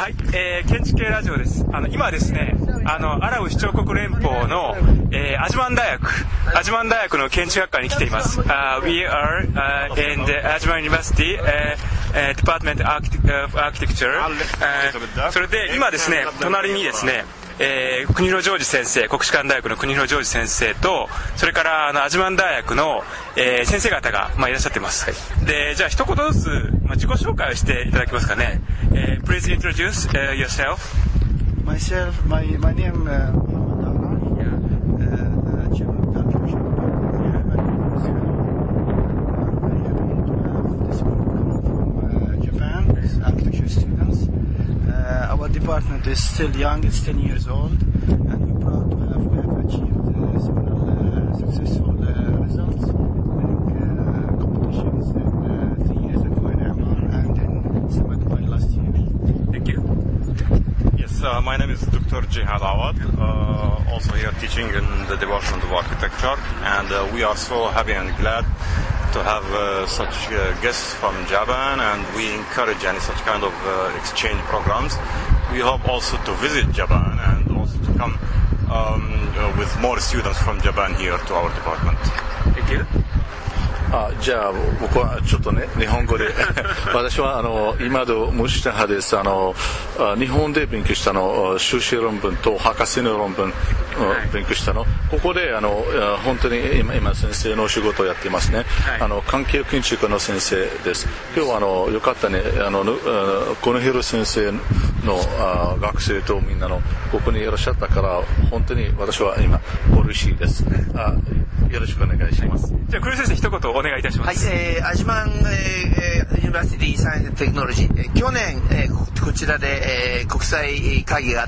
はい、建築系ラジオです。今ですね、アラブ首長国連邦の、アジマン大学の建築学科に来ています。We are in the Ajman University Department of Architecture。それで今ですね、隣にですね、国広ジョージ先生、国士舘大学の国広ジョージ先生と、それからアジマン大学の、先生方が、いらっしゃっています。で、じゃあ一言ずつ、自己紹介をしていただけますかね。Please introduce yourself. My name Chairman of the Architecture from Japan, architecture students. Our department is still young, it's 10 years old, and we're proud to have achieved several successful results, winning competitions 3 years ago in Amman and in Sama Dubai last year. Thank you. Yes, my name is Dr. Jihad Awad, also here teaching in the Department of Architecture, and we are so happy and glad to have such guests from Japan, and we encourage any such kind of exchange programs. We hope also to visit Japan and also to come with more students from Japan here to our department. Thank you. じゃあ僕はちょっとね日本語で私は今戸ムシタハです。日本で勉強した修士論文と博士の論文勉強したここで本当に今先生の仕事をやっていますね。環境建築の先生です。今日はよかったねこの広先生の学生とみんなのここにいらっしゃったから本当に私は今嬉しいです。よろしくお願いします。 じゃあ黒井先生一言お願いいたします。 はい、アジマン、ユニバーシティサイエンステクノロジー、去年、こちらで、国際会議があって、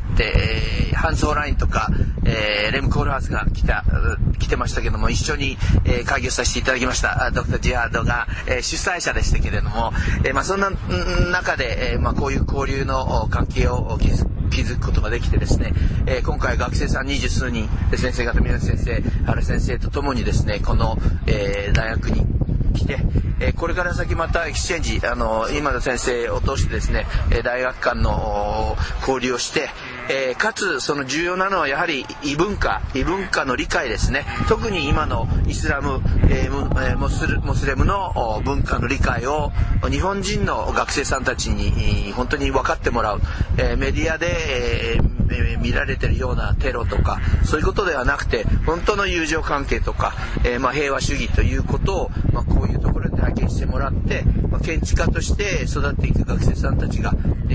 ハンス・ホラインとか、レム・コールハウスが来てましたけども、一緒に、会議をさせていただきましたドクター・ジハードが、主催者でしたけれども、そんな中で、こういう交流の関係を築くことができてですね、今回学生さん20数人先生方宮崎先生原先生とともにですねこの、大学に来て、これから先またエクスチェンジ今の先生を通してですね大学間の交流をして、かつその重要なのはやはり異文化の理解ですね。特に今のイスラム、モスレムの文化の理解を日本人の学生さんたちに本当に分かってもらう、メディアで、見られているようなテロとかそういうことではなくて本当の友情関係とか、平和主義ということを、こういうところで体験してもらって、建築家として育っていく学生さんたちが、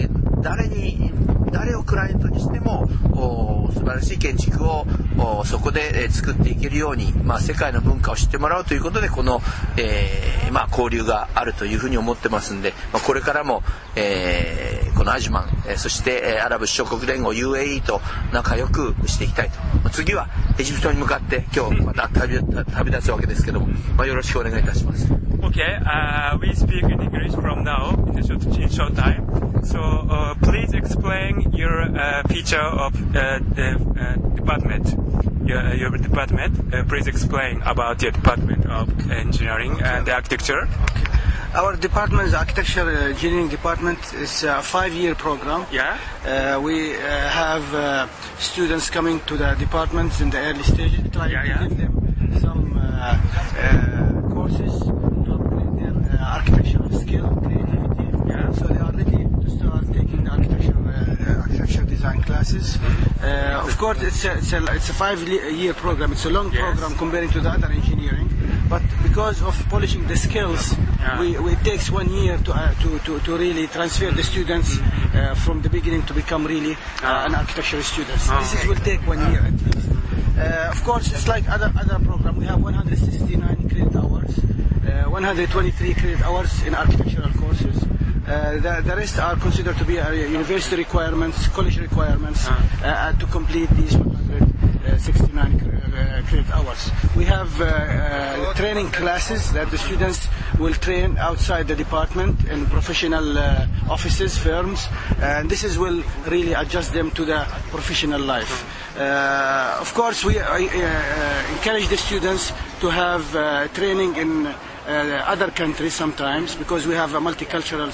誰をクライアントにしても素晴らしい建築をそこで作っていけるように、世界の文化を知ってもらうということでこの、交流があるというふうに思ってますんで、これからも、このアジマン、そしてアラブ首長国連合 UAE と仲良くしていきたいと。次はエジプトに向かって今日また旅立つわけですけども、よろしくお願いいたします。 Okay, we speak in English from now in short time. So please explain your feature of department. Your department. Please explain about your department of engineering and architecture. Our department is architecture engineering department. It's a 5-year program. Yeah. We have students coming to the departments in the early stages, trying to give them some courses to upgrade their architectural skill, creativity. Yeah. So they are ready to start taking the architecture design classes. Of course, it's a 5-year program. It's a long program comparing to the other engineering. But because of polishing the skills, it takes 1 year to really transfer the students from the beginning to become really an architectural students. This will take 1 year at least. Of course, it's like other program. We have 169 credit hours, 123 credit hours in architectural courses. The rest are considered to be university requirements, college requirements to complete these 169 credit hours. We have training classes that the students will train outside the department in professional offices, firms, and this will really adjust them to the professional life. Of course, we encourage the students to have training in other countries sometimes, because we have multicultural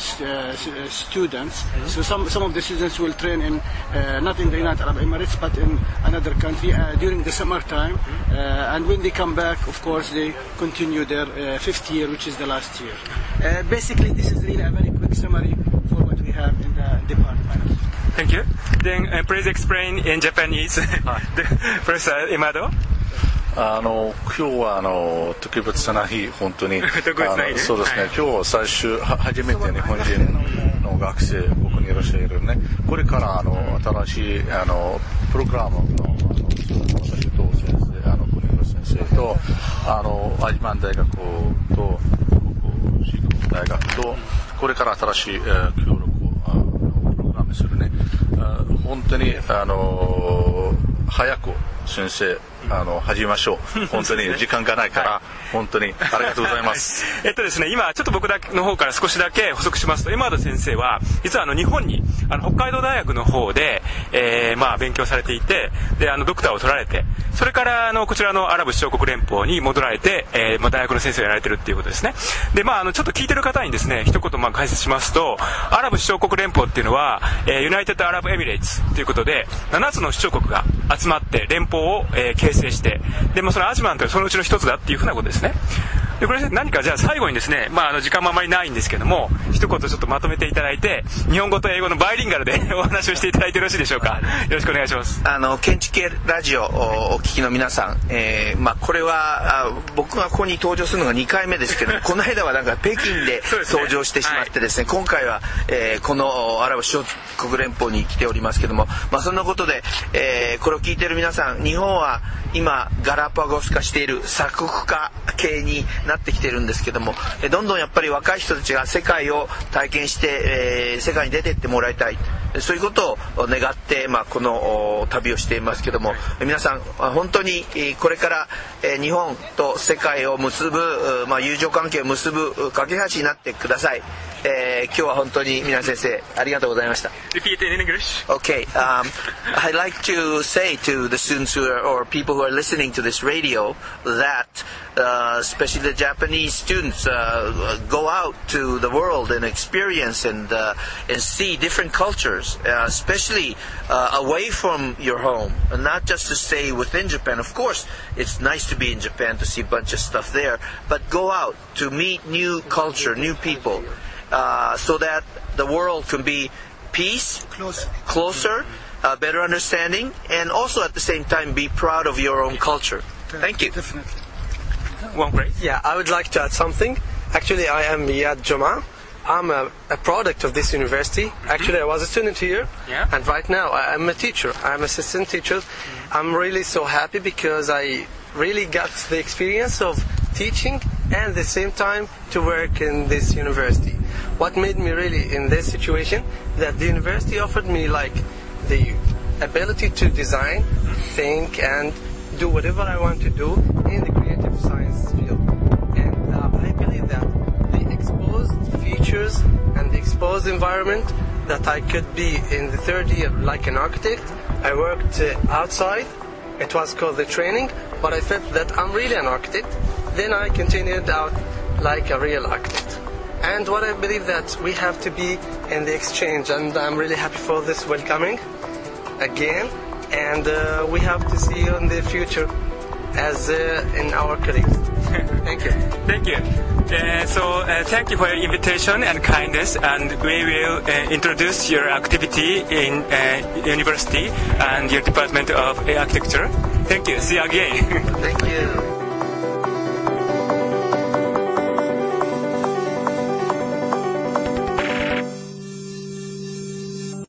students. So some of the students will train in not in the United Arab Emirates but in another country during the summertime, and when they come back, of course, they continue their fifth year, which is the last year. Basically, this is really a very quick summary for what we have in the department. Thank you. Then please explain in Japanese, Professor Imado. 今日は特別な日、本当にそうですね、今日最終初めて日本人の学生ここにいらっしゃるね。これから新しいプログラムの私と先生、国の先生とアジマン大学とシーク大学とこれから新しい協力をプログラムするね。本当に早く先生始めましょう。本当に時間がないから、本当にありがとうございます。 ですね、今ちょっと僕の方から少しだけ補足しますと、今田先生は実は日本に北海道大学の方で、勉強されていて、でドクターを取られて、それからこちらのアラブ首長国連邦に戻られて、大学の先生をやられてるっていうことですね。でちょっと聞いてる方にですね一言解説しますと、アラブ首長国連邦っていうのは、ユナイテッドアラブエミレーツということで7つの首長国が集まって連邦を、形成して、でそのアジマンというそのうちの一つだっていうふうなことですね。でこれ何かじゃあ最後にですね、時間もあまりないんですけども、一言ちょっとまとめていただいて、日本語と英語のバイリンガルでお話をしていただいてよろしいでしょうか。よろしくお願いします。 建築系ラジオをお聞きの皆さん、これは僕がここに登場するのが2回目ですけどこの間はなんか北京で登場してしまってですね、今回は、このアラブ首長国連邦に来ておりますけども、そんなことで、これを聞いている皆さん、日本は今ガラパゴス化している鎖国化系になってきているんですけども、どんどんやっぱり若い人たちが世界を体験して、世界に出ていってもらいたい、そういうことを願って、この旅をしていますけども、皆さん本当にこれから日本と世界を結ぶ、友情関係を結ぶ架け橋になってください。今日は本当に皆先生ありがとうございました。 Repeat in English. Okay. I'd like to say to the students or people who are listening to this radio that especially the Japanese students go out to the world and experience and see different cultures, especially away from your home, and not just to stay within Japan. Of course, it's nice to be in Japan to see a bunch of stuff there, but go out to meet new culture, new people, so that the world can be peace, closer, better understanding, and also at the same time be proud of your own culture. Thank you. Definitely. One phrase. Yeah, I would like to add something. Actually, I am Yad Joma. I'm a product of this university. Actually, I was a student here, and right now I'm a teacher. I'm assistant teacher. I'm really so happy because I really got the experience of teaching and at the same time to work in this university. What made me really in this situation, that the university offered me like the ability to design, think, and do whatever I want to do in the creative science field. And I believe that the exposed features and the exposed environment that I could be in the third year like an architect. I worked outside. It was called the training, but I felt that I'm really an architect. Then I continued out like a real architect. And what I believe that we have to be in the exchange, and I'm really happy for this welcoming again. And we have to see you in the future as in our colleagues. Thank you. Thank you. Thank you for your invitation and kindness, and we will introduce your activity in university and your department of architecture. Thank you. See you again. Thank you.